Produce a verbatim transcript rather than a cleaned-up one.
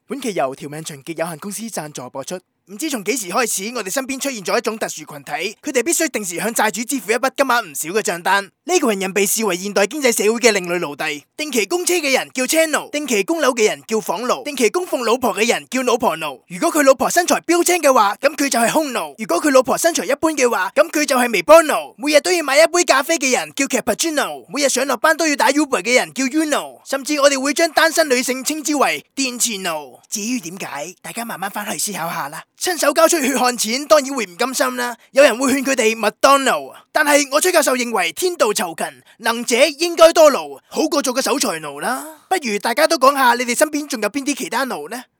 本期由條命純潔有限公司贊助播出。唔知從幾時開始，我哋身邊出現咗一種特殊群體，佢哋必須定時向債主支付一筆金額唔少嘅賬單。呢個群人被視為現代經濟社會嘅另類奴隸。定期供車嘅人叫車奴，定期供樓嘅人叫房奴，定期供奉老婆嘅人叫老婆奴。如果佢老婆身材標青嘅話，咁佢就係匈奴；如果佢老婆身材一般嘅話，咁佢就係微波奴。每日都要買一杯咖啡嘅人叫 cappuccino， 每日上落班都要打 Uber 嘅人叫 Uno， 甚至我哋會將單身女性稱之為電池奴。至於點解，大家慢慢翻去思考下啦。親手交出血汗錢，當然會唔甘心啦。有人會勸佢哋麥當勞，但係我崔教授認為天道酬勤，能者應該多勞，好過做個守財奴啦。不如大家都講下你哋身邊仲有邊啲其他奴呢？